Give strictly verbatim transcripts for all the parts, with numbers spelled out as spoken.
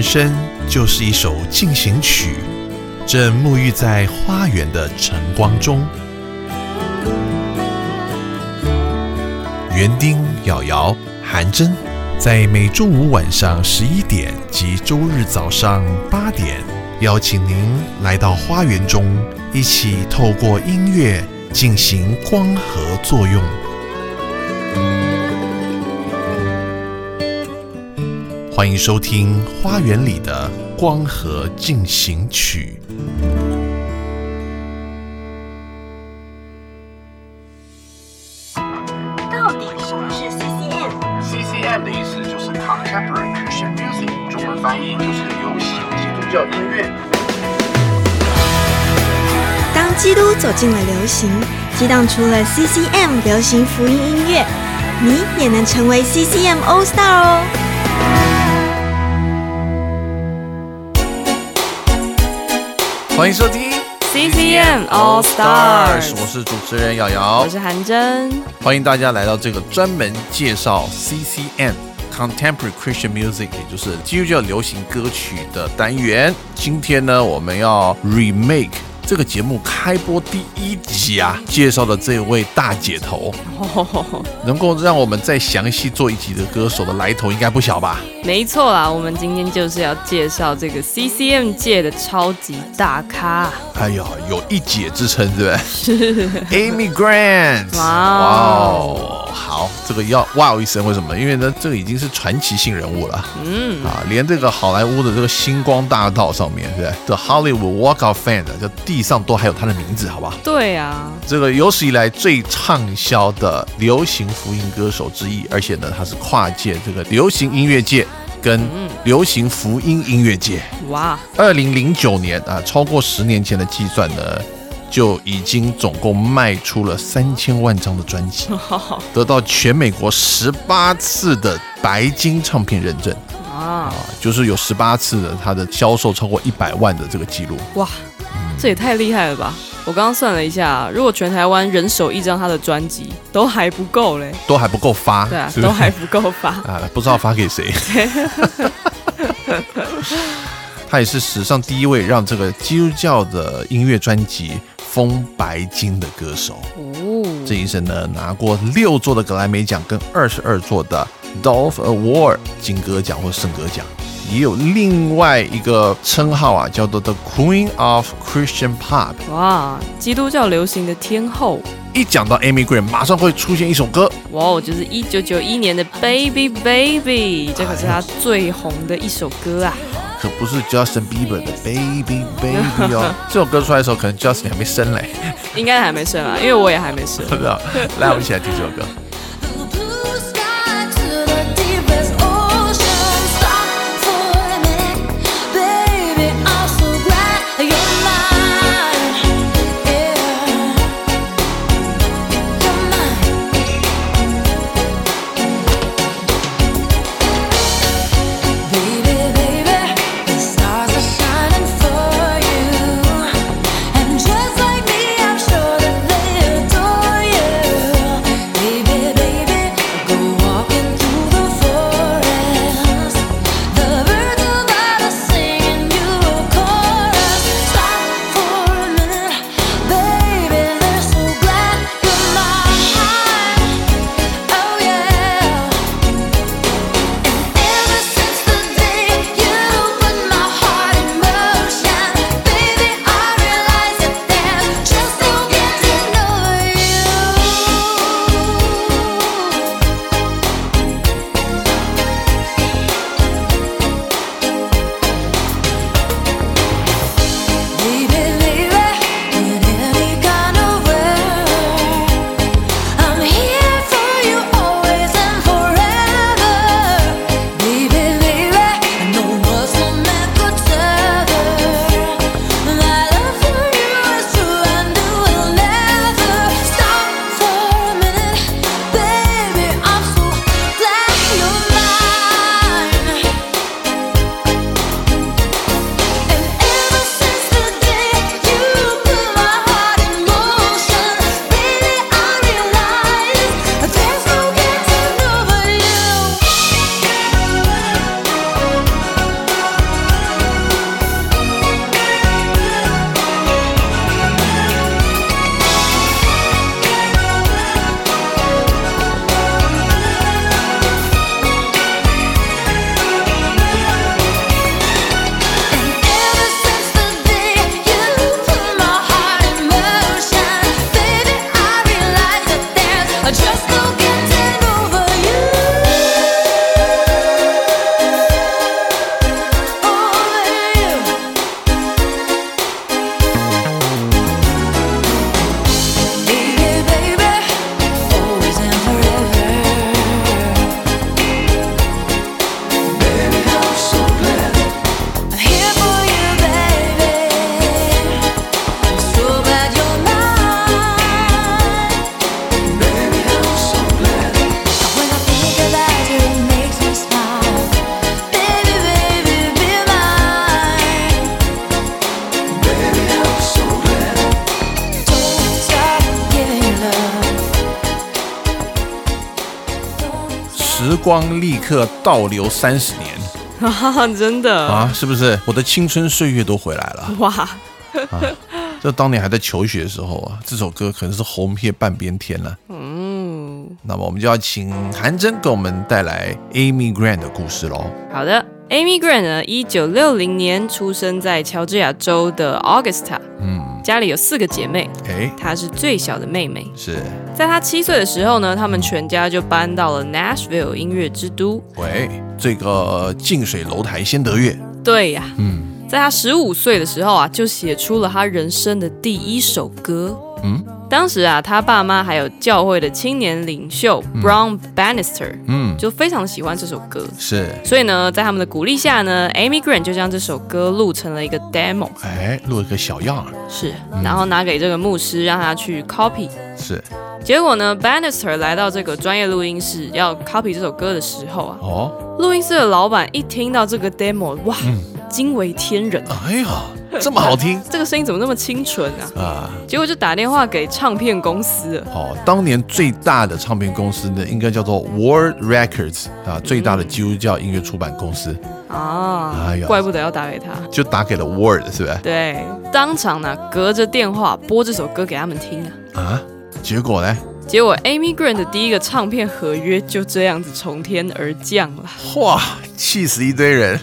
生就是一首进行曲，正沐浴在花园的晨光中。园丁、瑶瑶、韩真，在每周五晚上十一点及周日早上八点，邀请您来到花园中，一起透过音乐进行光合作用。欢迎收听《花园里的光合进行曲》。 到底什么是 C C M？C C M 的意思就是 Contemporary Christian Music， 中文翻译就是流行基督教音乐。 当基督走进了流行，激荡出了 C C M 流行福音音乐，你也能成为 C C M All Star 哦！ 欢迎收听 C C M All Stars， 我是主持人瑶瑶， 我是韩真， 欢迎大家来到这个专门介绍 C C M。Contemporary Christian Music， 也就是基督教流行歌曲的单元。今天呢，我们要 remake 这个节目开播第一集啊，介绍的这位大姐头，能够让我们再详细做一集的歌手的来头，应该不小吧？ 没错啦，我们今天就是要介绍这个 C C M 界的超级大咖。 哎呦，有一姐之称，对不对？ 是 Amy Grant。 哇哦，好，这个要哇一声，为什么？因为呢，这个已经是传奇性人物了。嗯啊，连这个好莱坞的这个星光大道上面，对不对？的 Hollywood Walk of Fame 的地上都还有他的名字，好不好？ 对啊， 这个有史以来最畅销的流行福音歌手之一，而且呢，他是跨界这个流行音乐界跟流行福音音乐界。哇！二零零九年啊，超过十年前的计算呢，就已经总共卖出了三千万张的专辑，得到全美国十八次的白金唱片认证。啊，就是有十八次的他的销售超过一百万的这个记录。哇！ 这也太厉害了吧！我刚刚算了一下，如果全台湾人手一张他的专辑，都还不够嘞， 都还不够发， 对啊， 是不是都还不够发啊，不知道发给谁。他也是史上第一位让这个基督教的音乐专辑封白金的歌手。哦，这一生呢，拿过六座的格莱美奖跟二十二座的 Dove Award 金歌奖或圣歌奖。也有另外一个称号啊，叫做 The Queen of Christian Pop。 哇，基督教流行的天后。 一讲到 Amy Grant， 马上会出现一首歌， 哇，就是一九九一年的 Baby Baby， 这可是他最红的一首歌啊， 可不是 Justin Bieber 的 Baby Baby 哦。这首歌出来的时候，可能 Justin 还没生嘞， 应该还没生啊，因为我也还没生。 来，我们一起来听这首歌。 Baby 时光立刻倒流三十年啊，真的啊，是不是？我的青春岁月都回来了哇！啊，这当年还在求学的时候啊，这首歌可能是红遍半边天了。嗯，那么我们就要请韩真给我们带来 Amy Grant 的故事喽。 好的。Amy Grant 呢，一九六零年出生在乔治亚州的 Augusta， 嗯，家里有四个姐妹，欸、她是最小的妹妹。 是在她七岁的时候呢，他们全家就搬到了 Nashville 音乐之都。 喂，这个近水楼台先得月。 对呀、啊，嗯，在她十五岁的时候啊，就写出了她人生的第一首歌。嗯。当时啊，他爸妈还有教会的青年领袖 Brown Bannister， 嗯，就非常喜欢这首歌， 是， 所以呢，在他们的鼓励下呢 ，Amy Grant 就将这首歌录成了一个 demo， 哎，录一个小样， 是，然后拿给这个牧师让他去 copy， 是， 结果呢 ，Bannister 来到这个专业录音室要 copy 这首歌的时候啊，哦，录音室的老板一听到这个 demo， 哇，惊为天人， 哎呀。这么好听， 这个声音怎么那么清纯啊？啊！结果就打电话给唱片公司了。 哦，当年最大的唱片公司呢，应该叫做 World Records 啊，最大的基督教音乐出版公司。 啊，哎呀，怪不得要打给他， 就打给了 World， 是不是？ 对，当场呢，隔着电话播这首歌给他们听啊。 啊，结果呢？ 结果 Amy Grant 的第一个唱片合约就这样子从天而降了。 哇，气死一堆人！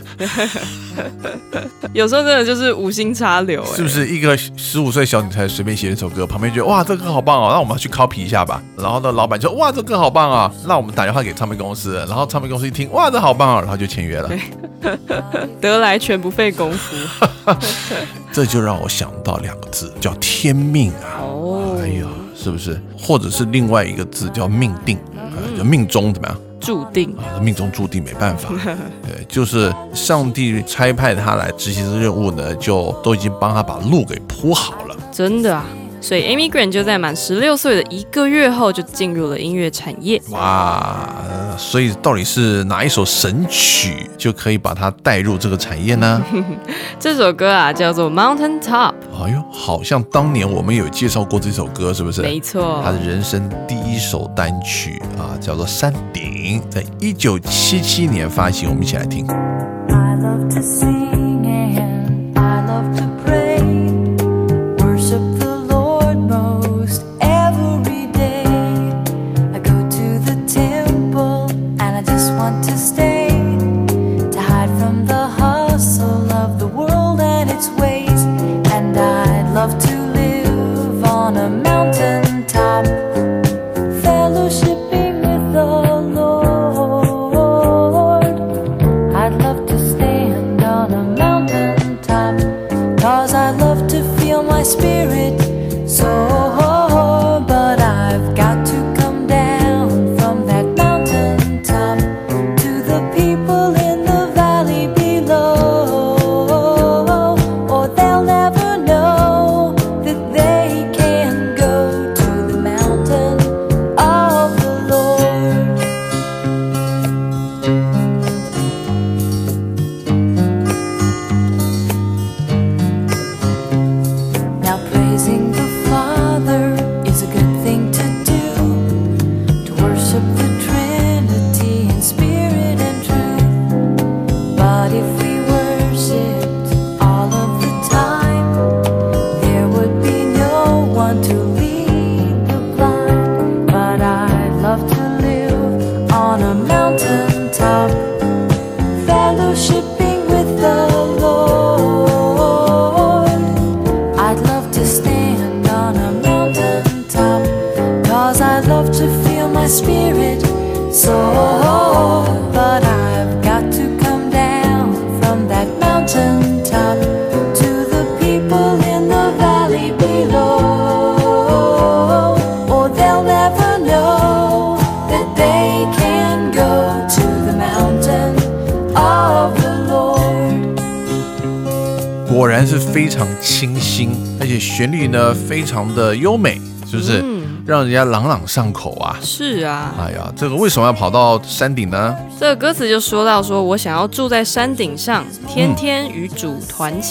有时候真的就是无心插柳、欸， 是不是？一个十五岁小女孩随便写一首歌，旁边觉得哇，这个歌好棒哦，那我们要去 copy 一下吧。然后呢，老板就哇，这个歌好棒啊，那我们打电话给唱片公司。然后唱片公司一听，哇，这好棒啊，然后就签约了。 得来全不费工夫。 这就让我想到两个字，叫天命啊。哦，哎呀。是不是？或者是另外一个字叫命定，嗯、就命中怎么样？ 注定啊，命中注定没办法。对，就是上帝差派他来执行这任务呢，就都已经帮他把路给铺好了。 真的啊。所以 Amy Grant 就在满十六岁的一个月后就进入了音乐产业。 哇，所以到底是哪一首神曲就可以把它带入这个产业呢？ 这首歌啊叫做 Mountain Top。 哎呦，好像当年我们有介绍过这首歌，是不是？ 没错， 他的人生第一首单曲啊，叫做《山顶》，在一九七七年发行。我们一起来听。I love to sing and I love to pray, worship the Lord most every day. I go to the temple and I just want to stay, to hide from the hustle of the world and its ways. And I'd love to live on a mountain top, fellowshipping with the Lord. I'd love to stand on a mountain top, 'cause I love to feel my spirit soar. But I've got to come down from that mountain top to the people in the valley below, or they'll never know that they can go to the mountain of the Lord. Now praising the Father is a good thing to do, to worship the Trinity in spirit and truth. But if we worshipped all of the time, there would be no one to lead the blind. But I'd love to live on a mountain top, fellowshipping with the Lord. I'd love to stand on a mountain top, 'cause I love to feel my spirit soar. But I've got to come down from that mountain top to the people in the valley below, or they'll never know that they can go to the mountain of the Lord. 果然是非常清新，而且旋律呢非常的优美，是不是？嗯，让人家朗朗上口啊。 是啊。 哎呀，这个为什么要跑到山顶呢？ 这个歌词就说到说，我想要住在山顶上，天天与主团契。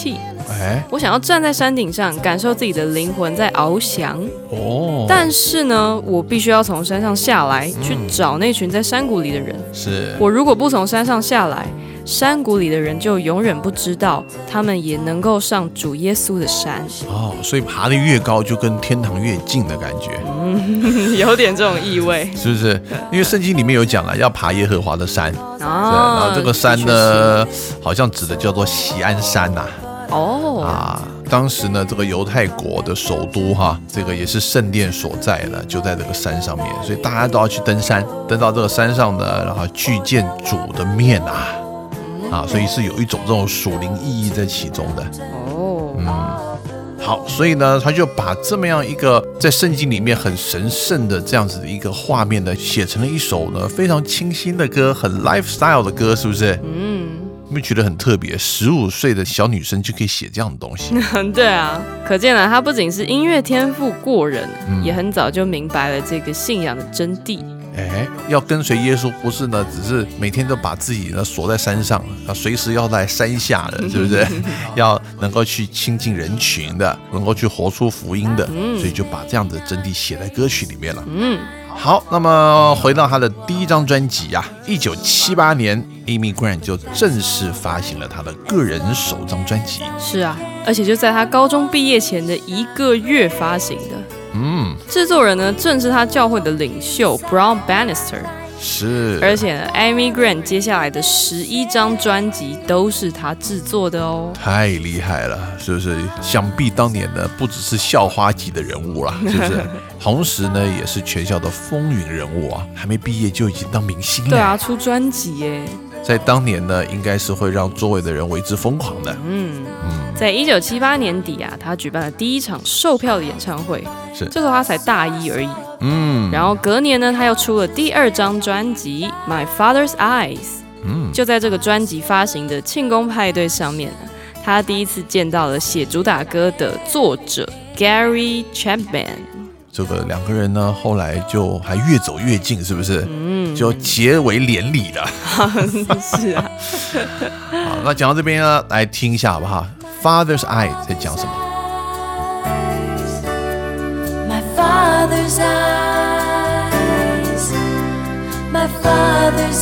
哎，我想要站在山顶上，感受自己的灵魂在翱翔。哦，但是呢，我必须要从山上下来，去找那群在山谷里的人。 是， 我如果不从山上下来，山谷里的人就永远不知道，他们也能够上主耶稣的山。 哦，所以爬得越高，就跟天堂越近的感觉。 嗯，有点这种意味， 是不是？因为圣经里面有讲了，要爬耶和华的山。 哦， 然后这个山呢，好像指的叫做锡安山呐、啊。 哦啊，当时呢，这个犹太国的首都哈，这个也是圣殿所在的，就在这个山上面，所以大家都要去登山，登到这个山上呢，然后去见主的面啊。啊，所以是有一种这种属灵意义在其中的哦。嗯，好，所以呢，他就把这么样一个在圣经里面很神圣的这样子的一个画面呢，写成了一首呢非常清新的歌，很 lifestyle 的歌，是不是？嗯，有没有觉得很特别？十五岁的小女生就可以写这样的东西？ 对啊，可见了她不仅是音乐天赋过人，嗯、也很早就明白了这个信仰的真谛。 哎，要跟随耶稣，不是呢，只是每天都把自己呢锁在山上，随时要在山下的，是不是？要能够去亲近人群的，能够去活出福音的，所以就把这样的真谛写在歌曲里面了。嗯，好，那么回到他的第一张专辑啊，一九七八年 Amy Grant 就正式发行了他的个人首张专辑。 是啊，而且就在他高中毕业前的一个月发行的。嗯，制作人呢正是他教会的领袖 Brown Bannister， 是， 而且呢 Amy Grant 接下来的十一张专辑都是他制作的哦， 太厉害了，是不是？想必当年呢不只是校花级的人物啦，是不是？同时呢也是全校的风云人物啊，还没毕业就已经当明星了。 对啊，出专辑耶， 在当年呢应该是会让周围的人为之疯狂的。嗯嗯，在一九七八年底啊，他举办了第一场售票的演唱会， 是， 这时候他才大一而已。嗯，然后隔年呢，他又出了第二张专辑《My Father's Eyes》。嗯，就在这个专辑发行的庆功派对上面呢，他第一次见到了写主打歌的作者 Gary Chapman。 这个两个人呢，后来就还越走越近，是不是？嗯，就结为连理了。 是啊。 好，那讲到这边呢，来听一下好不好？ Father's Eye 在讲什么？ My father's eyes, my father's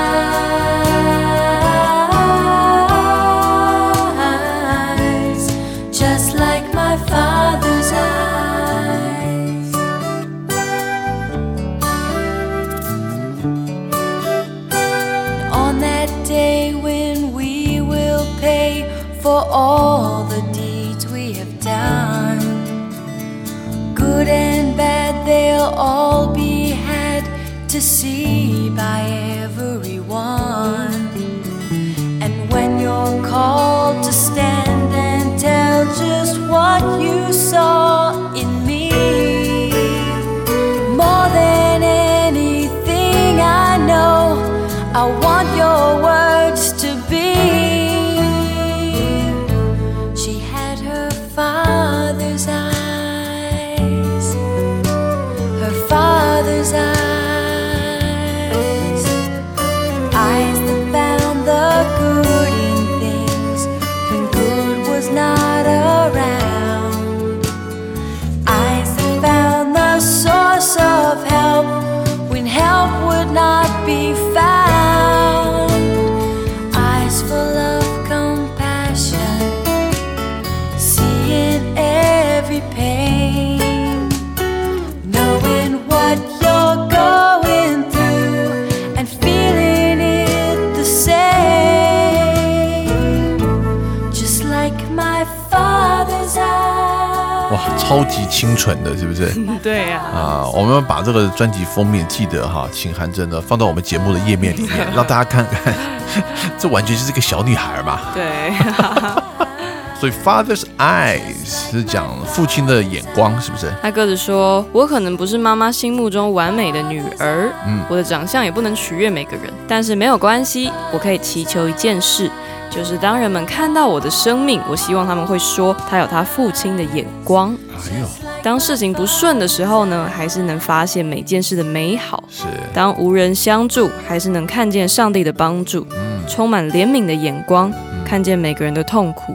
eyes, just like my father's eyes. On that day when we will pay for all the deeds we have done, good and bad, they'll all be had to see by everyone. And when you're called to stand and tell just what you saw in me, more than anything I know, I want your words to be, she had her father's eyes, her father's eyes, eyes that found the good in things when good was not around, eyes that found the source of help when help would not be found, eyes full of compassion, seeing every pain, knowing what you're going through and feeling it the same, just like my father's eyes. 哇，超级清纯的，是不是？ 对呀。 啊，我们把这个专辑封面记得哈，请韩真的放到我们节目的页面里面，让大家看看，这完全就是个小女孩嘛。 对。 所以 Father's Eyes 是讲父亲的眼光，是不是？ 他歌词说：“我可能不是妈妈心目中完美的女儿，嗯，我的长相也不能取悦每个人，但是没有关系，我可以祈求一件事。”就是当人们看到我的生命，我希望他们会说他有他父亲的眼光。哎呦，当事情不顺的时候呢，还是能发现每件事的美好。 是， 当无人相助，还是能看见上帝的帮助。嗯，充满怜悯的眼光，嗯，看见每个人的痛苦。嗯，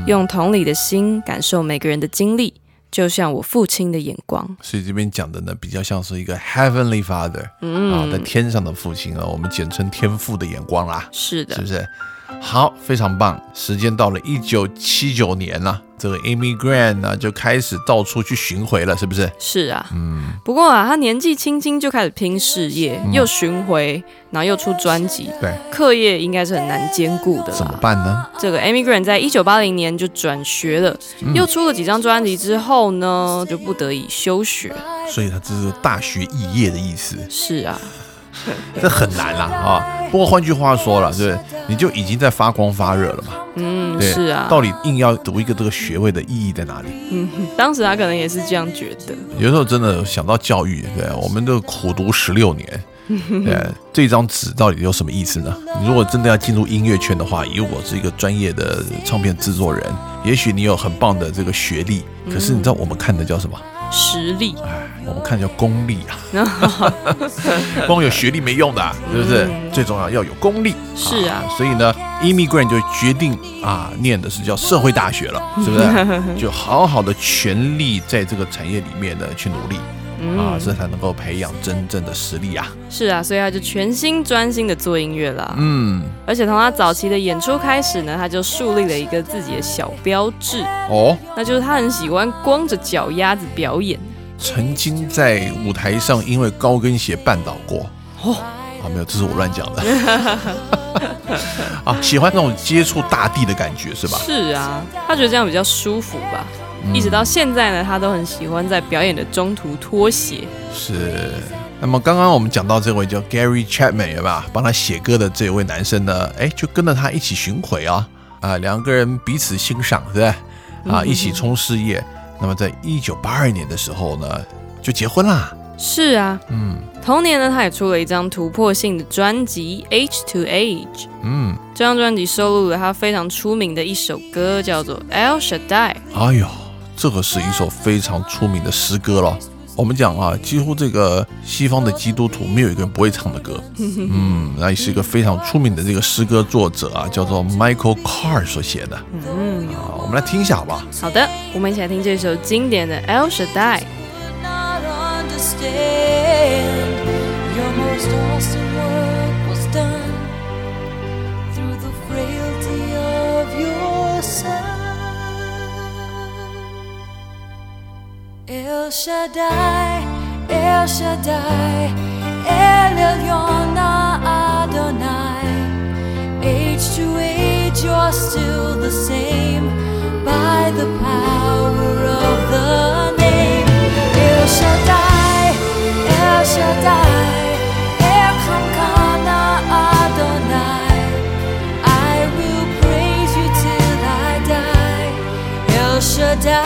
用同理的心感受每个人的经历，就像我父亲的眼光。 所以这边讲的呢，比较像是一个 Heavenly Father，嗯啊，在天上的父亲啊，我们简称天父的眼光啦。 是的， 是不是？好，非常棒。时间到了一九七九年了、啊，这个 Amy Grant 呢就开始到处去巡回了，是不是？ 是啊，嗯。不过啊，他年纪轻轻就开始拼事业，嗯、又巡回，然后又出专辑， 对， 课业应该是很难兼顾的啦。 怎么办呢？ 这个 Amy Grant 在一九八零年就转学了，嗯、又出了几张专辑之后呢，就不得已休学。 所以他这是大学肄业的意思。 是啊。 这很难啦啊！不过换句话说了，对，你就已经在发光发热了嘛。 嗯，是啊。 到底硬要读一个这个学位的意义在哪里？ 嗯，当时他可能也是这样觉得。 有时候真的想到教育，对，我们都苦读十六年，对，这张纸到底有什么意思呢？你如果真的要进入音乐圈的话，以我是一个专业的唱片制作人，也许你有很棒的这个学历，可是你知道我们看的叫什么？ 实力， 哎，我们看叫功力啊，光有学历没用的、啊，是不是？嗯、最重要要有功力。 是啊， 啊所以呢 ，Amy Grant 就决定啊，念的是叫社会大学了，是不是？就好好的全力在这个产业里面呢去努力。嗯、啊，这才能够培养真正的实力啊！ 是啊，所以他就全心专心的做音乐啦。嗯，而且从他早期的演出开始呢，他就树立了一个自己的小标志哦，那就是他很喜欢光着脚丫子表演。 曾经在舞台上因为高跟鞋绊倒过哦，啊，没有，这是我乱讲的。啊，喜欢那种接触大地的感觉是吧？ 是啊，他觉得这样比较舒服吧。一直到现在呢，他都很喜欢在表演的中途脱鞋。 是。那么刚刚我们讲到这位叫 Gary Chapman 有吧，帮他写歌的这位男生呢，哎，就跟着他一起巡回啊，啊，两个人彼此欣赏，对不对？啊，一起冲事业。那么在一九八二年的时候呢，就结婚啦。 是啊，嗯，同年呢，他也出了一张突破性的专辑《Age to Age》。嗯，这张专辑收录了他非常出名的一首歌，叫做《El Shaddai》。 哎呦，这个是一首非常出名的诗歌了。我们讲啊，几乎这个西方的基督徒没有一个人不会唱的歌。嗯，那也是一个非常出名的这个诗歌作者啊，叫做 Michael Carr 所写的。嗯，啊，我们来听一下好不好？ 好的，我们一起来听这首经典的《El Shaddai》。 Your most awesome work was done through the frailty of your Son. El Shaddai, El Shaddai, El Elyon Adonai. Age to age you're still the same by the power of the name El Shaddai.El Shaddai, Elkamkana Adonai. I will praise you till I die. El Shaddai,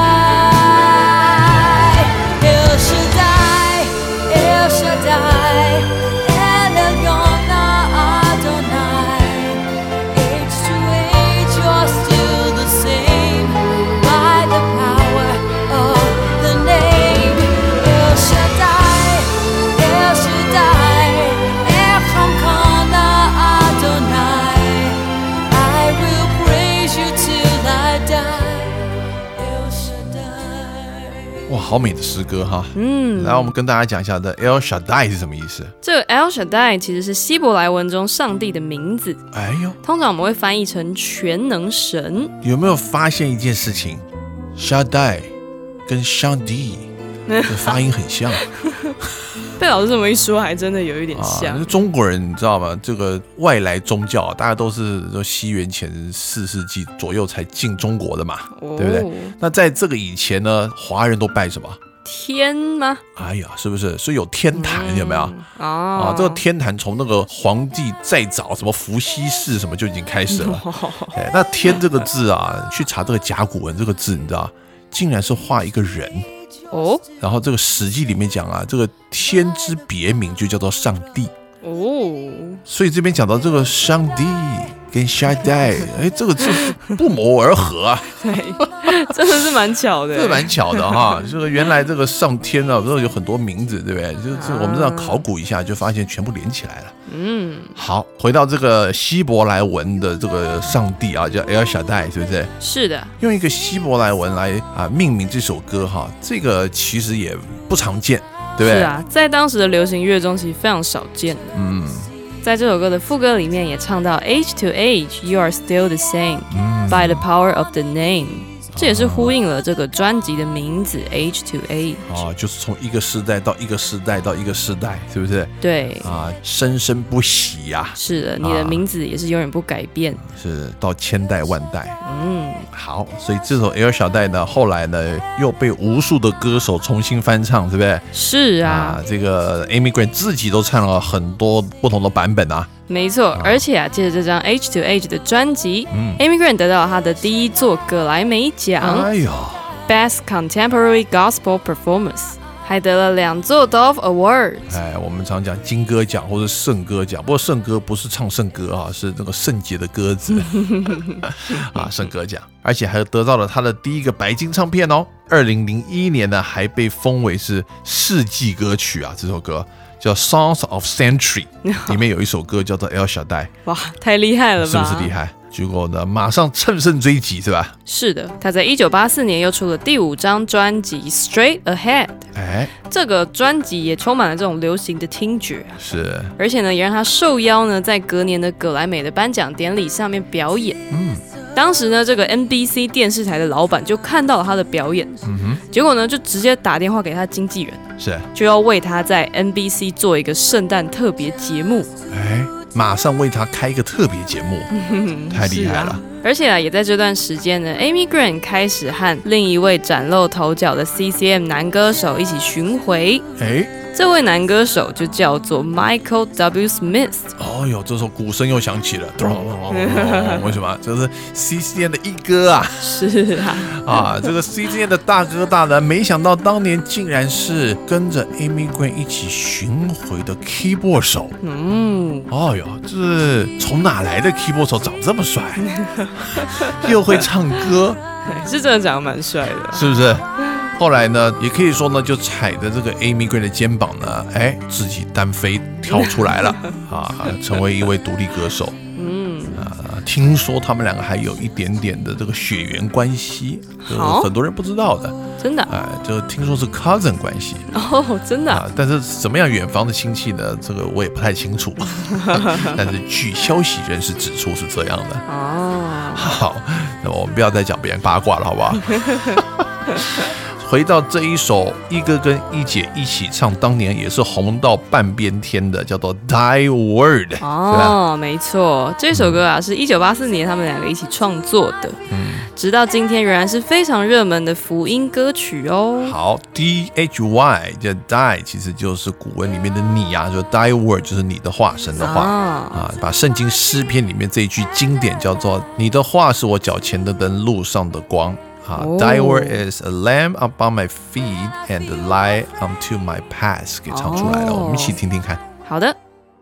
El Shaddai, El Shaddai, El Elyon Adonai. Age to age you're still the same by the power of the name El Shaddai.El Shaddai, Elkamkana Adonai. I will praise you till I die. El Shaddai. 哇，好美的诗歌哈！嗯，来，我们跟大家讲一下的 El Shaddai 是什么意思？ 这个 El Shaddai 其实是希伯来文中上帝的名字。哎呦，通常我们会翻译成全能神。 有没有发现一件事情 ？Shaddai 跟上帝的发音很像。 被老师这么一说，还真的有一点像。 啊、中国人你知道吗？这个外来宗教，大家都是西元前四世纪左右才进中国的嘛，哦、对不对？那在这个以前呢，华人都拜什么？ 天吗？ 哎呀，是不是？所以有天坛，嗯、有没有？哦、啊，这个天坛从那个皇帝再早，什么伏羲氏什么就已经开始了。哦哎、那天这个字啊，去查这个甲骨文这个字，你知道，竟然是画一个人。哦，然后这个《史记》里面讲啊，这个天之别名就叫做上帝哦， 所以这边讲到这个上帝跟夏代，哎，这个字不谋而合啊。 对，真的是蛮巧的， 这蛮巧的哈。这个原来这个上天啊，这有很多名字，对不对？就是我们这样考古一下，就发现全部连起来了。嗯，好，回到这个希伯来文的这个上帝啊，叫 El Shaddai， 是不是？ 是的， 用一个希伯来文来啊命名这首歌哈，这个其实也不常见，对不对？ 是啊，在当时的流行乐中其实非常少见。嗯。在这首歌的副歌里面也唱到 Age to age, you are still the same、嗯、by the power of the name， 这也是呼应了这个专辑的名字 Age to age、 啊、就是从一个世代到一个世代到一个世代，是不是？ 对啊，生生不息呀、啊。 是的，你的名字也是永远不改变、啊、 是到千代万代。嗯，好，所以这首 El Shaddai 呢，后来呢又被无数的歌手重新翻唱，对不对？ 是 啊, 啊，这个 Amy Grant 自己都唱了很多不同的版本啊。 没错，而且啊，借着这张 Age to age 的专辑、嗯、Amy Grant 得到了她的第一座葛莱美奖、哎、Best Contemporary Gospel Performance， 还得了两座 Dove Awards。 哎，我们常讲金歌奖或者圣歌奖，不过圣歌不是唱圣歌啊，是那个圣洁的鸽子啊，圣歌奖，而且还得到了他的第一个白金唱片哦。二零零一年呢，还被封为是世纪歌曲啊，这首歌。叫 Songs of Century， 里面有一首歌叫做 El Shaddai， 哇，太厉害了吧？ 是不是厉害？结果呢，马上乘胜追击，是吧？ 是的，他在一九八四年又出了第五张专辑 Straight Ahead， 哎，这个专辑也充满了这种流行的听觉， 是，而且呢，也让他受邀呢，在隔年的葛莱美的颁奖典礼上面表演。嗯。当时呢，这个 N B C 电视台的老板就看到了他的表演，嗯哼，结果呢，就直接打电话给他经纪人， 是， 就要为他在 N B C 做一个圣诞特别节目， 哎，马上为他开一个特别节目，太厉害了。啊、 而且啊，也在这段时间呢 ，Amy Grant 开始和另一位崭露头角的 C C M 男歌手一起巡回，哎。这位男歌手就叫做 Michael W. Smith。 哦哟，这时候鼓声又响起了，为什么？这是 C C M 的一哥啊！ 是啊， 啊，这个 C C M 的大哥大人，没想到当年竟然是跟着 Amy Grant 一起巡回的 keyboard 手。嗯，哦哟，这是从哪来的 keyboard 手长这么帅，又会唱歌， 是真的长得蛮帅的， 是不是？后来呢，也可以说呢，就踩着这个 Amy Grant 的肩膀呢，哎，自己单飞跳出来了啊，成为一位独立歌手。嗯啊，听说他们两个还有一点点的这个血缘关系，就是很多人不知道的， 真的， 哎，就听说是 cousin 关系。 哦，真的、啊。 但是怎么样远房的亲戚呢？这个我也不太清楚。但是据消息人士指出是这样的。哦，好，那我们不要再讲别人八卦了，好不好？回到这一首一哥跟一姐一起唱，当年也是红到半边天的，叫做 Die Word。 哦，没错，这首歌啊是一九八四年他们两个一起创作的，嗯，直到今天仍然是非常热门的福音歌曲哦。 好 D H Y 叫 Die 其实就是古文里面的你啊，就 Die Word 就是你的话，神的话、哦、啊，把圣经诗篇里面这一句经典叫做你的话是我脚前的灯，路上的光。Uh, Thy word is a lamp upon my feet and a light unto my path， 给唱出来了， oh. 我们一起听听看。 好的。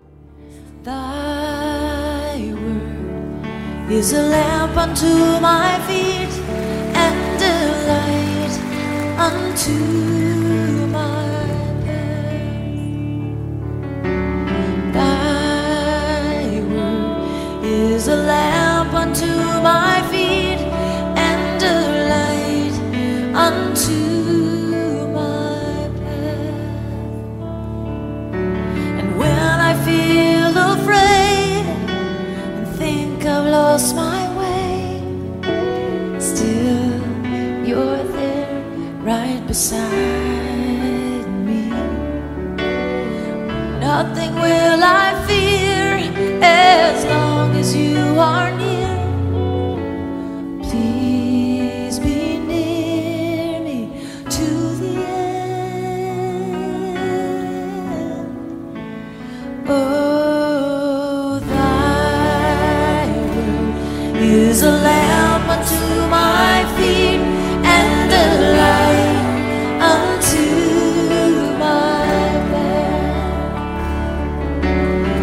Thy word is a lamp unto my feet and a light unto my path. Thy word is a lamp unto my feet and a unto my path. And when I feel afraid and think I've lost my way, still you're there right beside me. Nothing will I fear as long as you are near. Please be near me to the end. Oh, thy word is a lamp unto my feet and a light unto my path.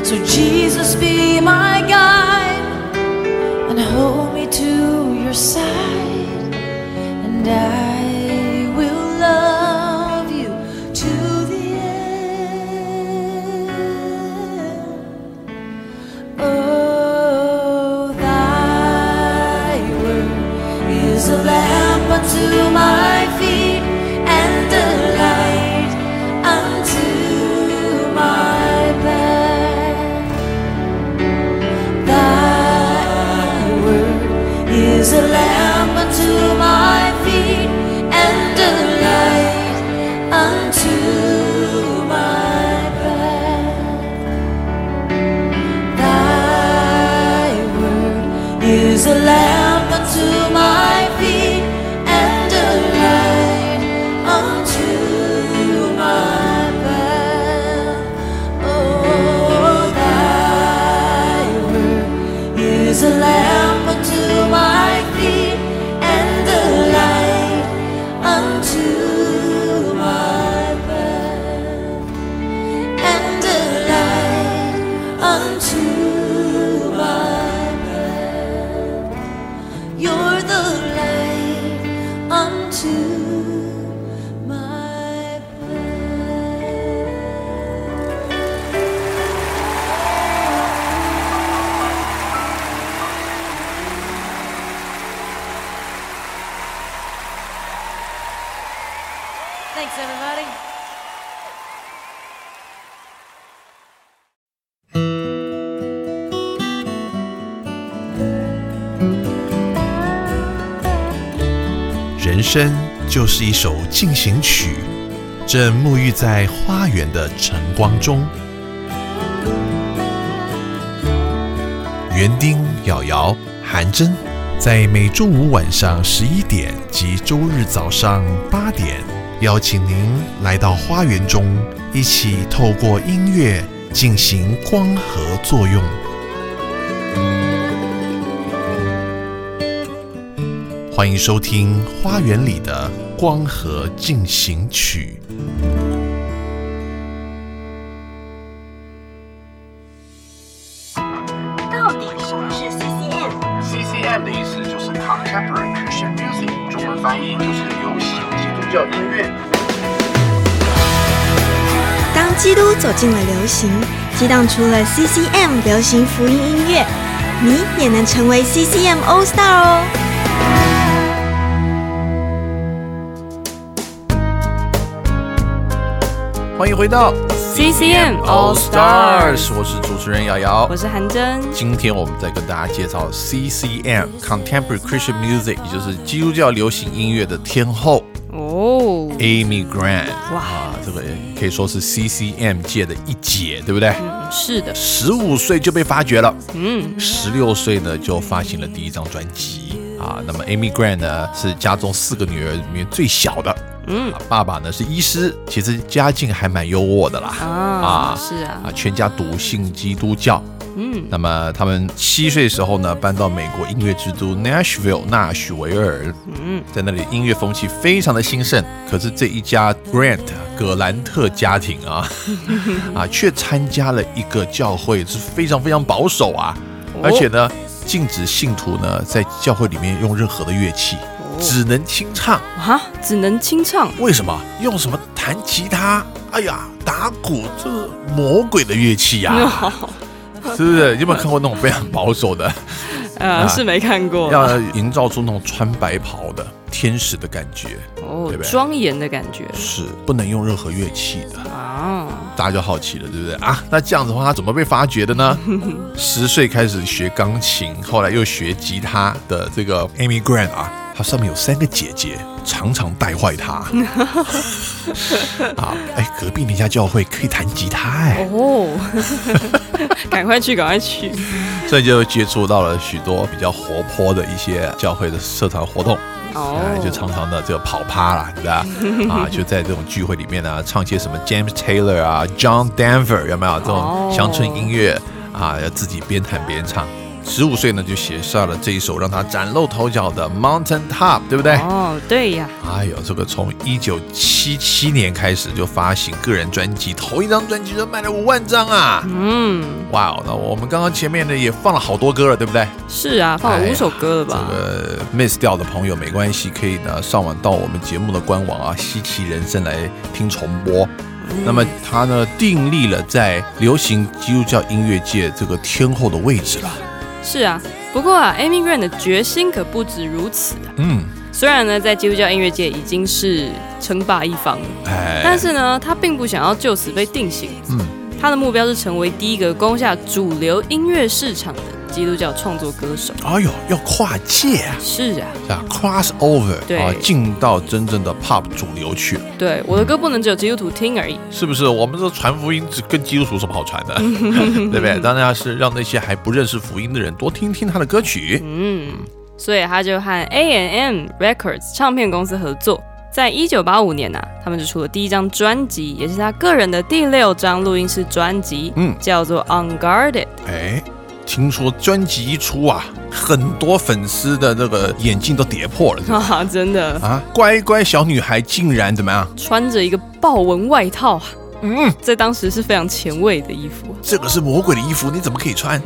So Jesus be my guide and hold me to your side, and I will love you to the end. Oh, thy word is a lamp unto my feet and a light unto my path. Thy word is a lamp unto my feet and a light unto my path. Thy word is a lamp unto my feet and a light unto my path. Oh, thy word is a lamp unto my feet and a light unto my path, and a light unto my path. You're the light unto my path. Thanks, everybody. 人生就是一首进行曲，正沐浴在花园的晨光中。园丁、瑶瑶、韩真，在每周五晚上十一点及周日早上八点，邀请您来到花园中，一起透过音乐进行光合作用。欢迎收听《花园里的光合进行曲》。 到底什么是 C C M？C C M 的意思就是 Contemporary Christian Music， 中文翻译就是流行基督教音乐。 当基督走进了流行，激荡出了 C C M 流行福音音乐，你也能成为 C C M All Star 哦！ 欢迎回到 C C M All Stars， 我是主持人瑶瑶， 我是韩真。 今天我们在跟大家介绍 C C M Contemporary Christian Music， 也就是基督教流行音乐的天后哦 ，Amy Grant。哇，啊，这个可以说是 C C M 界的一姐，对不对？ 嗯，是的。 十五岁就被发掘了，嗯，十六岁呢就发行了第一张专辑啊。那么 Amy Grant 呢是家中四个女儿里面最小的。嗯，爸爸呢是医师，其实家境还蛮优渥的啦。 啊，啊是啊， 啊，全家笃信基督教。嗯，那么他们七岁的时候呢，搬到美国音乐之都 Nashville 纳许维尔。嗯，在那里音乐风气非常的兴盛。可是这一家 Grant 葛兰特家庭啊，啊，却参加了一个教会是非常非常保守啊，哦、而且呢，禁止信徒呢在教会里面用任何的乐器。只能清唱啊！只能清唱？ 为什么？用什么弹吉他？哎呀，打鼓，这是魔鬼的乐器呀、啊！是不是？有没有看过那种非常保守的？ 呃，是没看过。 要营造出那种穿白袍的天使的感觉， 哦，对不对？庄严的感觉。 是，不能用任何乐器的啊！大家就好奇了，对不对啊？那这样子的话，他怎么被发掘的呢？十岁开始学钢琴，后来又学吉他的这个 Amy Grant 啊。他上面有三个姐姐，常常带坏他。啊，哎，隔壁那家教会可以弹吉他哎。哦， 赶快去，赶快去。 所以就接触到了许多比较活泼的一些教会的社团活动。哦，哎，就常常的这个跑趴啦，对吧？啊，就在这种聚会里面呢，唱些什么 James Taylor 啊、John Denver 有没有这种乡村音乐啊？要自己边弹边唱。 十五岁呢就写下了这一首让他崭露头角的 Mountain Top， 对不对？ 哦，对呀。 哎呦，这个从一九七七年开始就发行个人专辑，头一张专辑就卖了五万张啊！嗯，哇哦，那我们刚刚前面呢也放了好多歌了，对不对？ 是啊，放了五首歌了吧？ 哎、这个 miss 掉的朋友没关系，可以呢上网到我们节目的官网啊，稀奇人生来听重播。嗯、那么他呢订立了在流行基督教音乐界这个天后的位置了。 是啊，不过啊 ，Amy Grant 的决心可不止如此啊。嗯，虽然呢，在基督教音乐界已经是称霸一方了，哎、但是呢，他并不想要就此被定型。嗯，他的目标是成为第一个攻下主流音乐市场的基督教创作歌手。 哎呦，要跨界啊！ 是啊， 啊 ，cross over， 对啊， 进到真正的 pop 主流去。 对，我的歌不能只有基督徒听而已。 是不是？我们这传福音只跟基督徒有什么好传的？对不对？当然是让那些还不认识福音的人多听听他的歌曲。嗯， 所以他就和 A and M Records 唱片公司合作。在一九八五年啊，他们就出了第一张专辑，也是他个人的第六张录音室专辑，嗯，叫做 Unguarded。 哎，听说专辑一出啊，很多粉丝的这个眼镜都跌破了啊！真的啊，乖乖小女孩竟然怎么样？ 穿着一个豹纹外套，嗯，在当时是非常前卫的衣服。 这个是魔鬼的衣服，你怎么可以穿？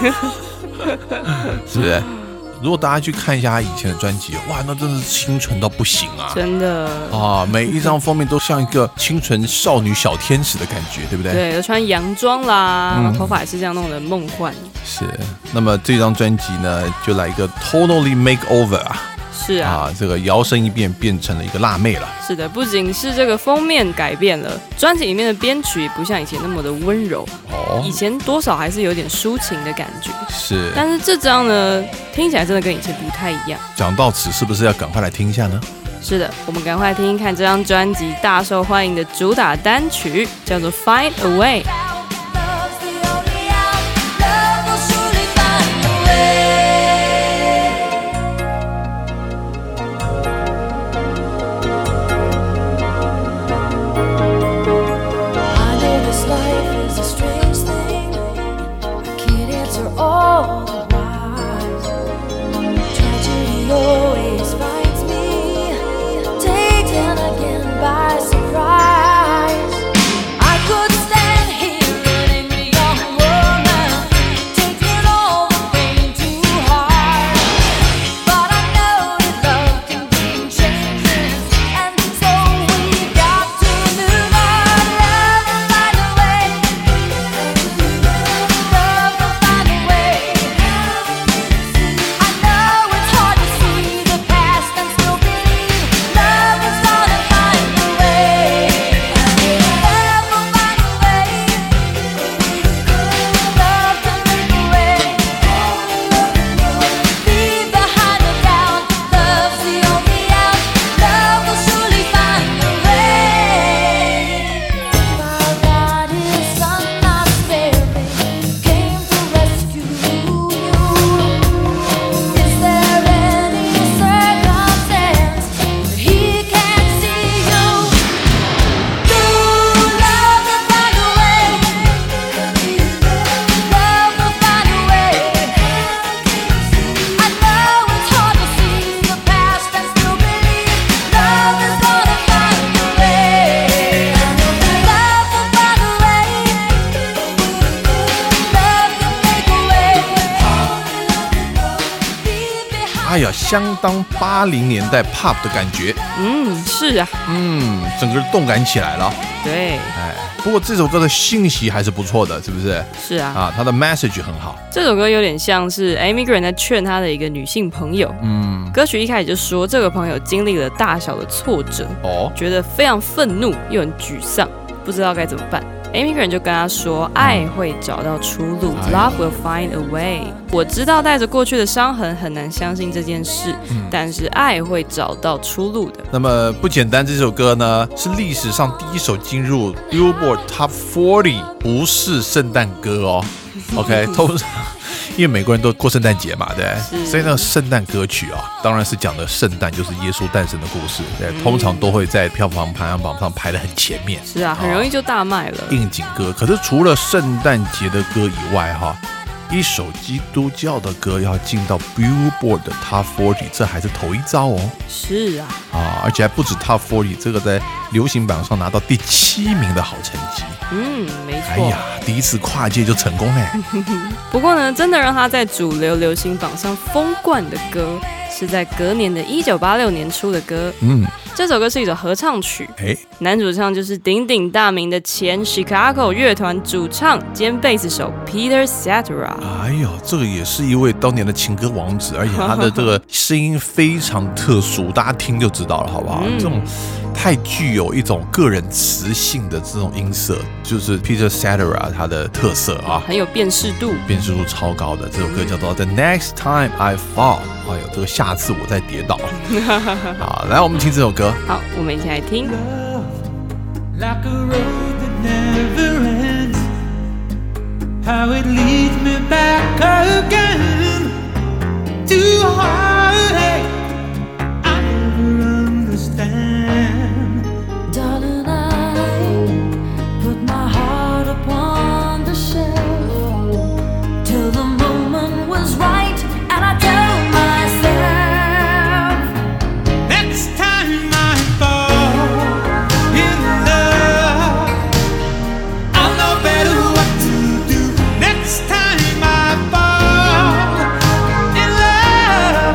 是不是？如果大家去看一下他以前的专辑，哇，那真的是清纯到不行啊！ 真的啊，每一张封面都像一个清纯少女小天使的感觉，对不对？ 对，穿洋装啦，嗯、头发也是这样弄得梦幻。 是，那么这张专辑呢，就来一个 totally makeover 啊。 是啊, 啊，这个摇身一变变成了一个辣妹了。 是的，不仅是这个封面改变了，专辑里面的编曲也不像以前那么的温柔。哦，以前多少还是有点抒情的感觉。 是， 但是这张呢，听起来真的跟以前不太一样。 讲到此，是不是要赶快来听一下呢？ 是的，我们赶快听听看这张专辑大受欢迎的主打单曲，叫做《Find a Way》。 哎呀，相当八零年代 pop 的感觉。 嗯，是啊， 嗯，整个人动感起来了。 对， 哎，不过这首歌的信息还是不错的，是不是？ 是啊， 啊，它的 message 很好。 这首歌有点像是 Amy Grant 在劝她的一个女性朋友。嗯，歌曲一开始就说这个朋友经历了大小的挫折，哦，觉得非常愤怒又很沮丧，不知道该怎么办。Amy Grant 就跟他说，爱会找到出路， Love will find a way。 我知道带着过去的伤痕很难相信这件事，嗯，但是爱会找到出路的。 那么不简单，这首歌呢是历史上第一首进入 Billboard Top 四十，不是圣诞歌哦。OK， 通常因为美国人都过圣诞节嘛，对，所以那个圣诞歌曲啊，当然是讲的圣诞，就是耶稣诞生的故事，对，嗯，通常都会在票房排行榜上排得很前面。 是啊，很容易就大卖了， 应景歌。可是除了圣诞节的歌以外，哈一首基督教的歌要进到 Billboard 的 Top 四十，这还是头一遭哦。 是啊， 啊，而且还不止 Top 四十，这个在流行榜上拿到第七名的好成绩。 嗯，没错。 哎呀，第一次跨界就成功嘞。 不过呢，真的让他在主流流行榜上封冠的歌，是在隔年的一九八六年出的歌。嗯，这首歌是一首合唱曲。哎，男主唱就是鼎鼎大名的前 Chicago 乐团主唱兼贝斯手 Peter Cetera。 哎呦，这个也是一位当年的情歌王子，而且他的这个声音非常特殊，大家听就知道了，好不好？嗯、这种太具有一种个人磁性的这种音色，就是 Peter Cetera 他的特色啊， 很有辨识度， 辨识度超高的。这首歌叫做 The Next Time I Fall。哎呦，这个下次我再跌倒。好，来我们听这首歌。 好，我们一起来听。 Like a road that never ends, how it leads me back again to a heartache I never understand. Darling, I put my heart upon the shelf till the moment was right, and I tell myself next time I fall in love, I'll know better what to do. Next time I fall in love,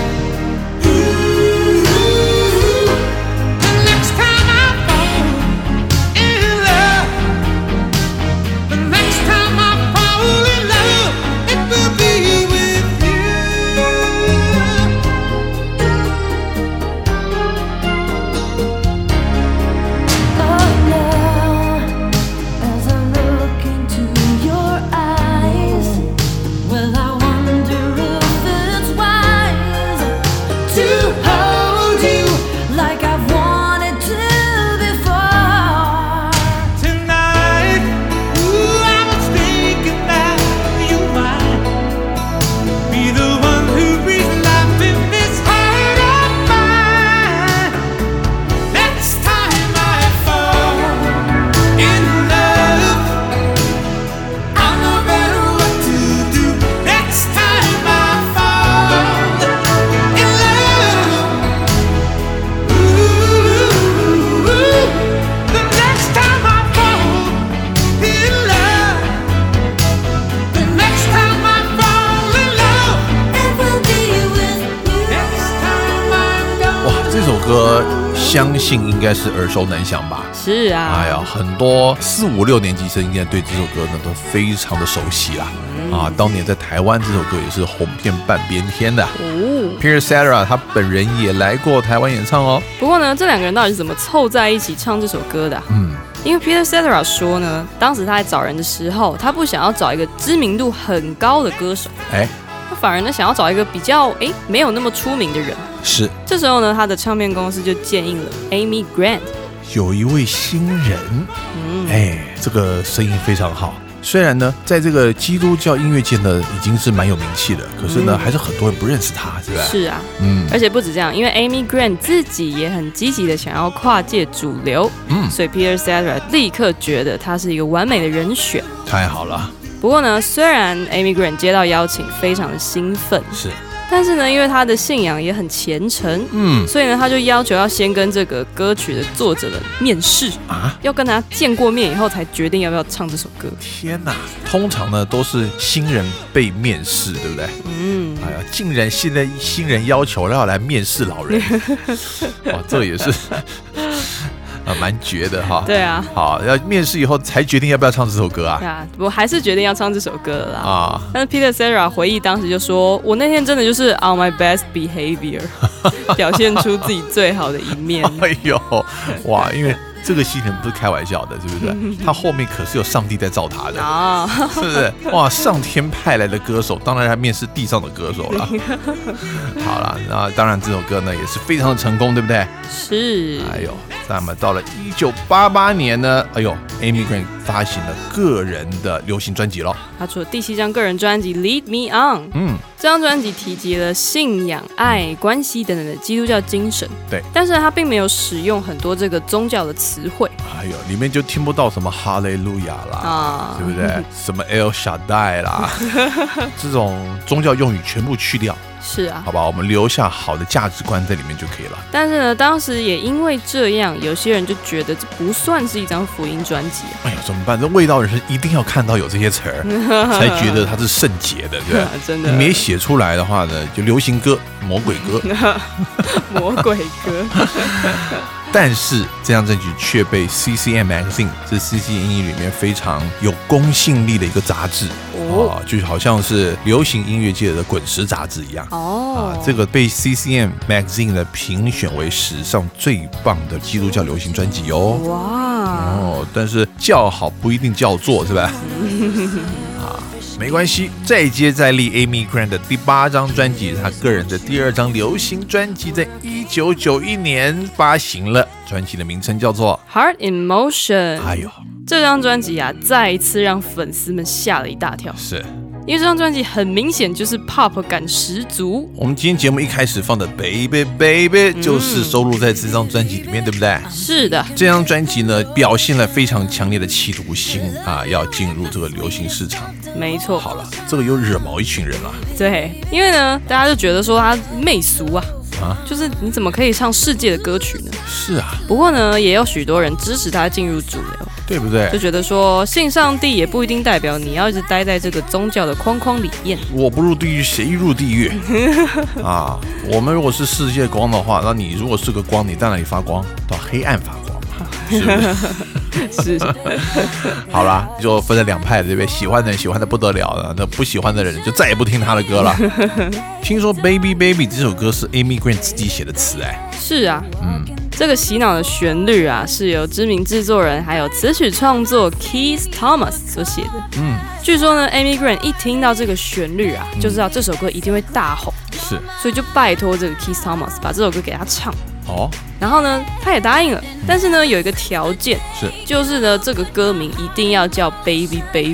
ooh, the next time I fall in love, the next time I fall in love, it will be with you. Oh, now, as I look into your eyes, well, I wonder if it's wise to hold you like I've wanted to before. Tonight, ooh, I was thinking that you might be the one who breathes life in this heart of mine. Next time I fall in love, I'll know better what to do. Next time I fall in love, ooh, the next time I fall in love, the next time I fall in love, it will be with you. Next time I go. 哇，这首歌相信应该是耳熟能详吧？ 是啊， 哎呀，很多四五六年级生应该对这首歌呢都非常的熟悉啦。嗯、啊，当年在台湾这首歌也是红遍半边天的。哦 Peter Cetera 他本人也来过台湾演唱哦。 不过呢，这两个人到底是怎么凑在一起唱这首歌的、啊？嗯，因为 Peter Cetera 说呢，当时他在找人的时候，他不想要找一个知名度很高的歌手，哎，他反而呢想要找一个比较哎没有那么出名的人。 是， 这时候呢，他的唱片公司就建议了 Amy Grant。 有一位新人，嗯，哎，这个声音非常好。虽然呢，在这个基督教音乐界呢，已经是蛮有名气的，可是呢，嗯、还是很多人不认识他，是吧？ 是啊，嗯，而且不止这样，因为 Amy Grant 自己也很积极的想要跨界主流，嗯，所以 Peter Cetera 立刻觉得他是一个完美的人选。 太好了。 不过呢，虽然 Amy Grant 接到邀请，非常的兴奋， 是。 但是呢，因为他的信仰也很虔诚，嗯，所以呢，他就要求要先跟这个歌曲的作者们面试啊，要跟他见过面以后才决定要不要唱这首歌。 天哪，通常呢都是新人被面试，对不对？嗯，哎呀，竟然现在新人要求要来面试老人，哇，这也是。啊，蛮绝的哈。 对啊， 好，要面试以后才决定要不要唱这首歌啊。 对啊，我还是决定要唱这首歌了啦。啊，但是 Peter Cetera 回忆当时就说：“我那天真的就是 on my best behavior， 表现出自己最好的一面。” 哎呦，哇，因为这个新人不是开玩笑的，是不是？他后面可是有上帝在造他的啊，是不是？哇，上天派来的歌手，当然还面试地上的歌手了。好了，那当然这首歌呢也是非常的成功，对不对？ 是。 哎呦。 那么到了一九八八年呢，哎呦 Amy Grant 发行了个人的流行专辑了。 他出了第七张个人专辑 Lead Me On。嗯，这张专辑提及了信仰、爱、关系等等的基督教精神。 对， 但是他并没有使用很多这个宗教的词汇。 哎呦，里面就听不到什么哈利路亚啦，啊、对不对？什么 El Shaddai 啦，这种宗教用语全部去掉。 是啊， 好吧，我们留下好的价值观在里面就可以了。 但是呢，当时也因为这样，有些人就觉得这不算是一张福音专辑、啊。 哎呀，怎么办？这味道人生一定要看到有这些词儿，才觉得它是圣洁的，对吧？ 真的， 你没写出来的话呢，就流行歌、魔鬼歌、 魔鬼歌。 但是这张专辑却被 C C M Magazine 是 C C M 里面非常有公信力的一个杂志、哦啊、就好像是流行音乐界的滚石杂志一样、哦啊、这个被 C C M Magazine 的评选为史上最棒的基督教流行专辑哦。哇哦，但是叫好不一定叫座，是吧？啊，没关系，再接再厉 Amy Grant 的第八张专辑，他个人的第二张流行专辑，在一九九一年发行了，专辑的名称叫做 Heart in Motion。 哎呦， 这张专辑啊，再一次让粉丝们吓了一大跳， 是因为这张专辑很明显就是 pop 感十足。 我们今天节目一开始放的 Baby Baby 就是收录在这张专辑里面、嗯、对不对？ 是的， 这张专辑呢表现了非常强烈的企图心啊，要进入这个流行市场。 没错。 好了，这个又惹毛一群人了。 对，因为呢大家就觉得说他媚俗啊，啊就是你怎么可以唱世界的歌曲呢？ 是啊。 不过呢也有许多人支持他进入主流， 对不对？ 就觉得说信上帝也不一定代表你要一直待在这个宗教的框框里面。 我不入地狱谁入地狱啊？我们如果是世界光的话，那你如果是个光，你在哪里发光？到黑暗发光嘛，是不是？ 是。 好啦，就分了两派，对不对？喜欢的人喜欢的不得了了，那不喜欢的人就再也不听他的歌了。听说 Baby Baby 这首歌是 Amy Grant 自己写的词，哎， 是啊，嗯。这个洗脑的旋律啊，是由知名制作人还有词曲创作 Keith Thomas 所写的。嗯，据说呢 ，Amy Grant 一听到这个旋律啊，就知道这首歌一定会大红。 是， 所以就拜托这个 Keith Thomas 把这首歌给他唱。 哦， 然后呢，他也答应了，但是呢，有一个条件， 是， 就是呢，这个歌名一定要叫 Baby Baby。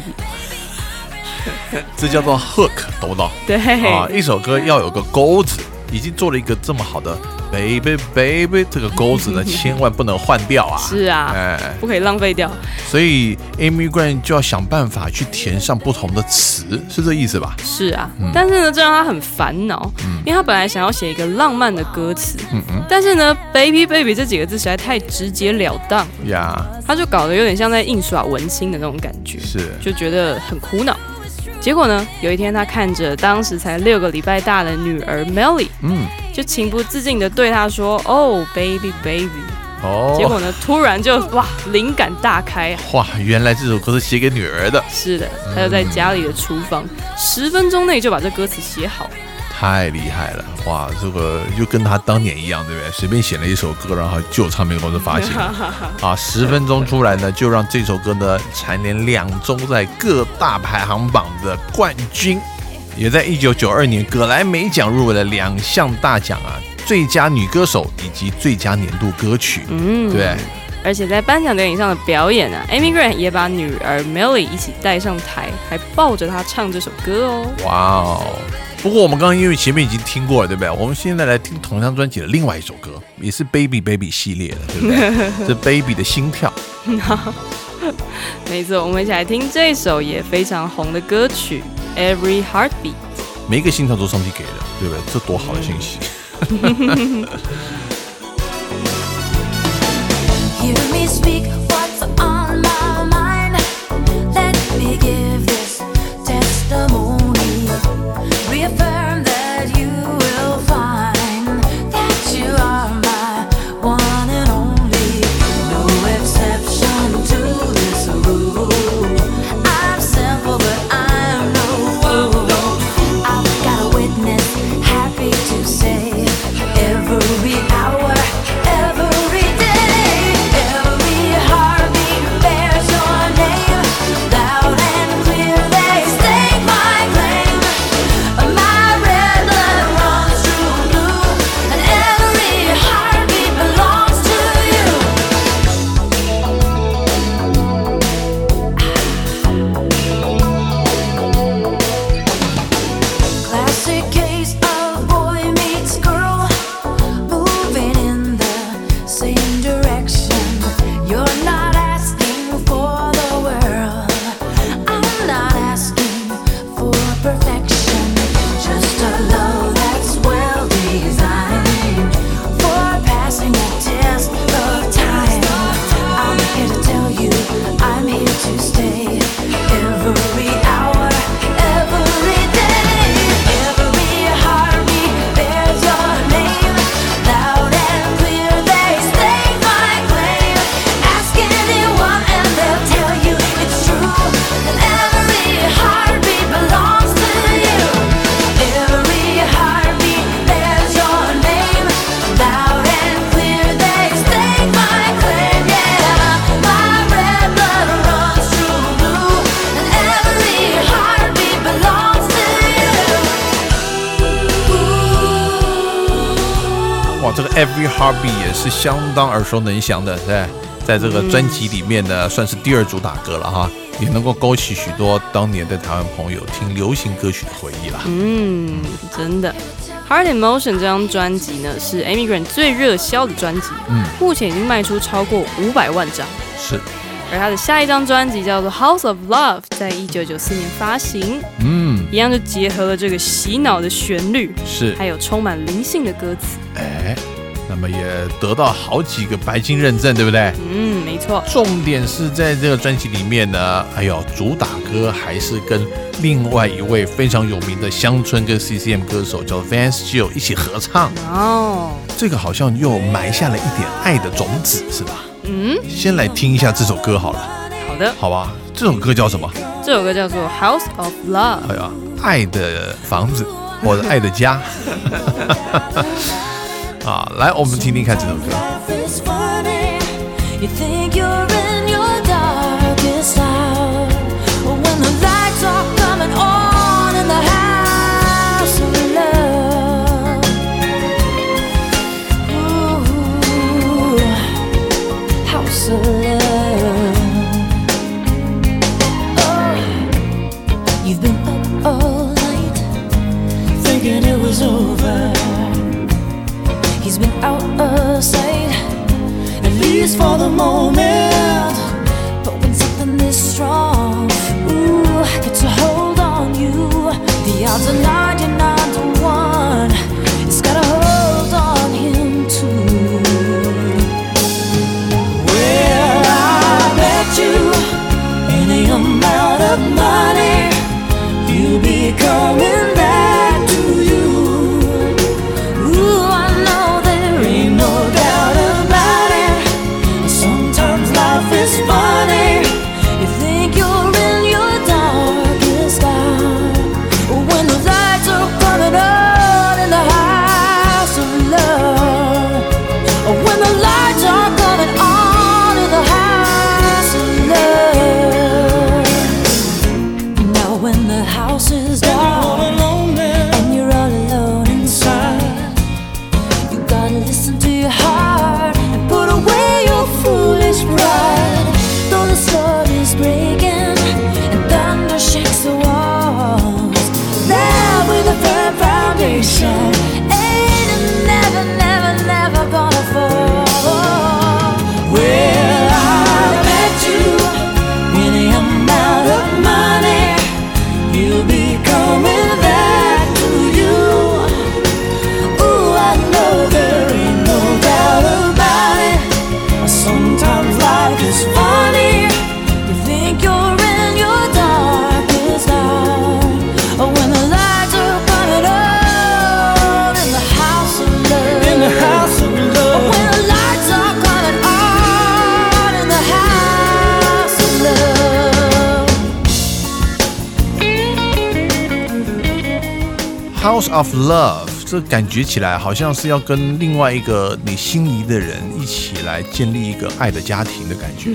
这叫做 hook， 懂不懂？ 对啊，一首歌要有个钩子，已经做了一个这么好的。Baby Baby 这个钩子呢，千万不能换掉啊！ 是啊，哎，不可以浪费掉。 所以 Amy Grant 就要想办法去填上不同的词，是这意思吧？ 是啊，嗯、但是呢，这让他很烦恼、嗯，因为他本来想要写一个浪漫的歌词，嗯嗯，但是呢 ，Baby Baby 这几个字实在太直截了当呀， yeah. 他就搞得有点像在印刷文青的那种感觉， 是，就觉得很苦恼。结果呢，有一天他看着当时才六个礼拜大的女儿 Melly， 嗯，就情不自禁的对她说：“哦 ，baby baby。”哦，结果呢，突然就哇，灵感大开啊！ 哇，原来这首歌是写给女儿的。 是的，他就在家里的厨房，十、嗯、分钟内就把这歌词写好。 太厉害了！哇，这个就跟他当年一样，对不对？随便写了一首歌，然后就有唱片公司发行啊，十分钟出来呢，就让这首歌呢蝉联两周在各大排行榜的冠军，也在一九九二年葛莱美奖入围了两项大奖啊，最佳女歌手以及最佳年度歌曲，嗯，对。 而且在颁奖典礼上的表演啊 ，Amy Grant 也把女儿 Melly 一起带上台，还抱着她唱这首歌哦。 哇哦！不过我们刚刚因为前面已经听过了，对不对？我们现在来听同张专辑的另外一首歌，也是 Baby Baby 系列的，对不对？是 Baby 的心跳。 没错，我们一起来听这首也非常红的歌曲 Every Heartbeat。 每一个心跳都上帝给的，对不对？这多好的信息。 Hear me speak what's on my mind. Let me give this testimony. Reaffirm that you will find that you are my one and only. No exception to this rule. I'm simple but I'm no fool. I've got a witness, happy to say every 哇，这个 Every Heartbeat 也是相当耳熟能详的，对，在这个专辑里面呢，算是第二主打歌了哈，也能够勾起许多当年的台湾朋友听流行歌曲的回忆啦。 嗯，真的。Heart in Motion 这张专辑呢，是 Amy Grant 最热销的专辑，嗯，目前已经卖出超过五百万张。 是。 而他的下一张专辑叫做 House of Love， 在一九九四年发行，嗯，一样就结合了这个洗脑的旋律， 是， 还有充满灵性的歌词， 哎，那么也得到好几个白金认证，对不对？ 嗯，没错。 重点是在这个专辑里面呢，哎呦，主打歌还是跟另外一位非常有名的乡村跟 C C M 歌手叫 Vance Gill 一起合唱哦，这个好像又埋下了一点爱的种子，是吧？嗯，先来听一下这首歌好了。 好的， 好吧。这首歌叫什么？ 这首歌叫做 House of Love。 哎呀，爱的房子或者爱的家。啊，来，我们听听看这首歌。 He's been out of sight, at least for the moment. But when something is strong, ooh, gets a hold on you, the odds are ninety-nine to one. It's got a hold on him too. Well, I bet you any amount of money you'll be coming back to you. It's funny, you think you're in your darkest hour, when the lights are coming on in the house of love, when the lights are coming on in the house of love. Now when the house is dark and you're all alone inside, you gotta listen to your heart and put away your foolish pride. Though the sword is breaking and thunder shakes the walls, there with a firm foundation, ain't it never, never, never gonna fall. Well, I bet you any amount of money you'll be coming back to you. Ooh, I know there ain't no doubt about it. Sometimes life is funny. You think you're in your darkest hour, when the lights are coming on in the house of love. In the house of love. When the lights are coming on in the house of love. House of Love。这感觉起来好像是要跟另外一个你心仪的人一起来建立一个爱的家庭的感觉。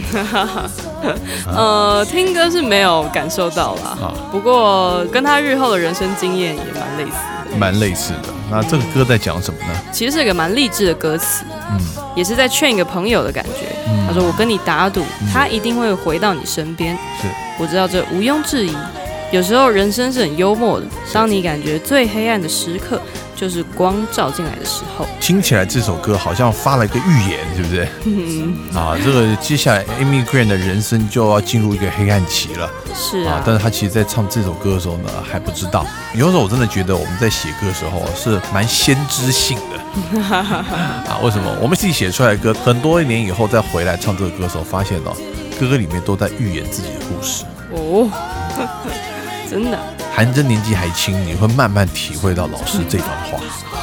呃，听歌是没有感受到啦，啊、不过跟他日后的人生经验也蛮类似的。 蛮类似的。那这个歌在讲什么呢？ 其实是一个蛮励志的歌词，嗯，也是在劝一个朋友的感觉。嗯、他说：“我跟你打赌，嗯、他一定会回到你身边。”是，我知道这毋庸置疑。有时候人生是很幽默的，当你感觉最黑暗的时刻，就是光照进来的时候。 听起来这首歌好像发了一个预言，对不对？嗯啊，这个接下来 Amy Grant 的人生就要进入一个黑暗期了。 是啊， 啊但是他其实在唱这首歌的时候呢，还不知道。有时候我真的觉得我们在写歌的时候是蛮先知性的。啊，为什么？我们自己写出来的歌，很多年以后再回来唱这个歌的时候，发现哦，歌歌里面都在预言自己的故事。哦。 真的， 韩真年纪还轻，你会慢慢体会到老师这番话。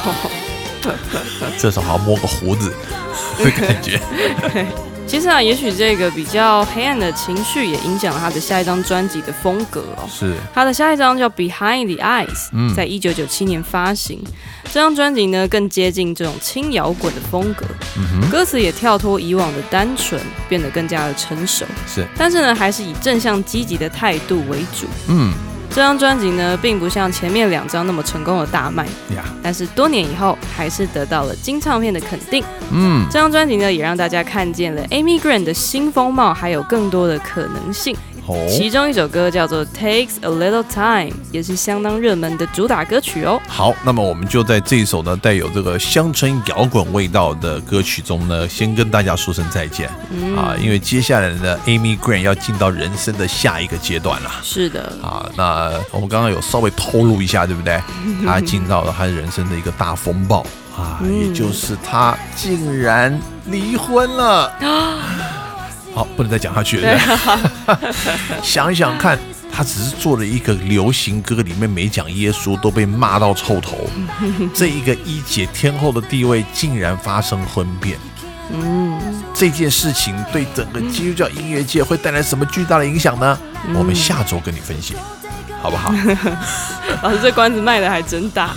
这时候好像摸个胡子的感觉。 其实啊，也许这个比较黑暗的情绪也影响了他的下一张专辑的风格哦。 是， 他的下一张叫《Behind the Eyes》，嗯，在一九九七年发行。这张专辑呢，更接近这种轻摇滚的风格，嗯、歌词也跳脱以往的单纯，变得更加的成熟。 是， 但是呢，还是以正向积极的态度为主。嗯。 这张专辑呢，并不像前面两张那么成功的大卖， yeah. 但是多年以后还是得到了金唱片的肯定。嗯，这张专辑呢，也让大家看见了 Amy Grant 的新风貌，还有更多的可能性。其中一首歌叫做 Takes a Little Time， 也是相当热门的主打歌曲哦。 好，那么我们就在这一首呢带有这个乡村摇滚味道的歌曲中呢，先跟大家说声再见、嗯、啊，因为接下来的 Amy Grant 要进到人生的下一个阶段了。 是的啊，那我们刚刚有稍微透露一下，对不对？他进到了他人生的一个大风暴啊、嗯，也就是他竟然离婚了。好，不能再讲下去了。想一想看，他只是做了一个流行歌，里面没讲耶稣，都被骂到臭头。这一个一姐天后的地位竟然发生婚变。嗯，这件事情对整个基督教音乐界会带来什么巨大的影响呢？嗯、我们下周跟你分析，好不好？ 老师，这关子卖的还真大。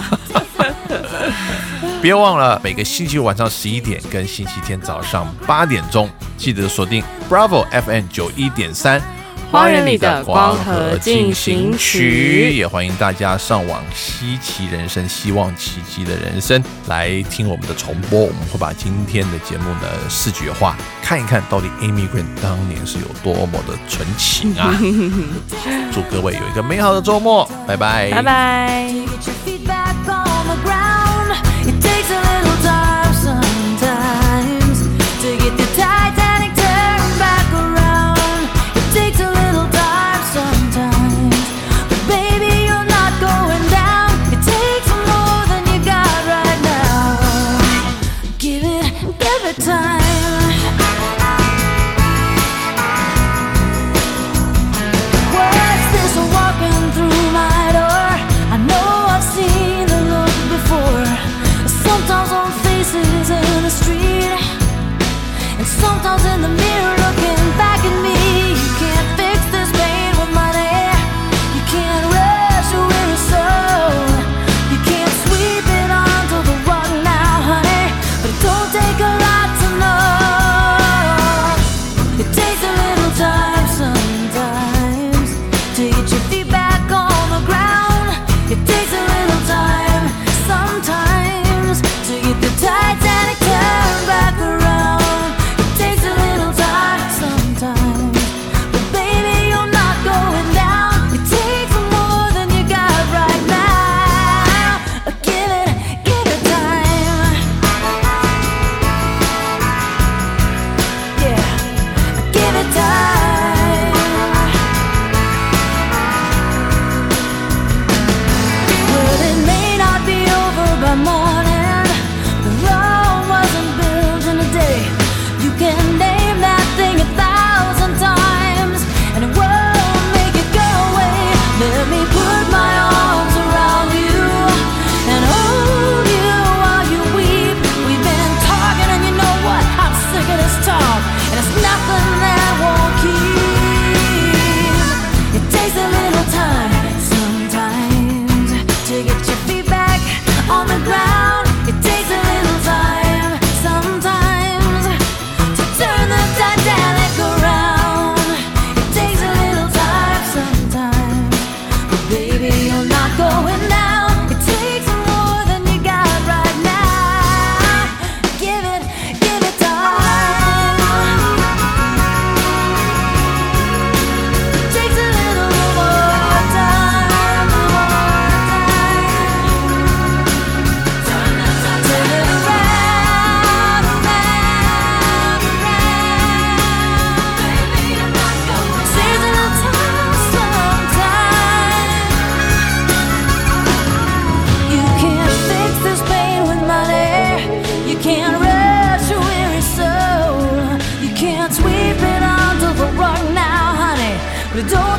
别忘了每个星期五晚上十一点跟星期天早上八点钟，记得锁定 Bravo F M 九一点三， 花园里的光合进行曲。 也欢迎大家上网稀奇人生，希望奇迹的人生来听我们的重播。我们会把今天的节目呢视觉化，看一看到底 Amy Grant 当年是有多么的纯情啊！祝各位有一个美好的周末，拜拜， 拜拜。 It takes a little time sometimes to get the Titanic turned back around. It takes a little time sometimes, but baby you're not going down. It takes more than you got right now. Give it, give it time. What's this walking through my door? I know I've seen the look before. Sometimes on faces in the street, and sometimes in the mirror looking back at me. You can't fix this pain with money. You can't rush a weary soul. You can't sweep it onto the rug now, honey. But it don't take a lot to know. It takes a little time sometimes to get your feet back on the ground. It takes a little time sometimes to get the Titanic turned back around. It takes a little time sometimes, but baby you're not going down. It takes more than you got right now. Give it, give it time. Yeah, give it time. Well, it may not be over by morning. Rome wasn't built in a day. You can name that thing a thousand times, and it won't make it go away. Let me put my arms around you and hold you while you weep. We've been talking, and you know what? I'm sick of this talk, and it's nothing that won't keep. It takes a little time sometimes to get your feet back on the ground. It takes a little time sometimes to turn the Titanic around. It takes a little time sometimes, but baby you're not going down. It takes more than you got right now. Give it, give it time. It takes a little more time, more time. Turn it around, around, around. Baby, you're not going down. Takes a little time sometimes. You can't fix this pain with money. You can't rush a weary soul. You can't sweep it onto the rug now, honey. But it don't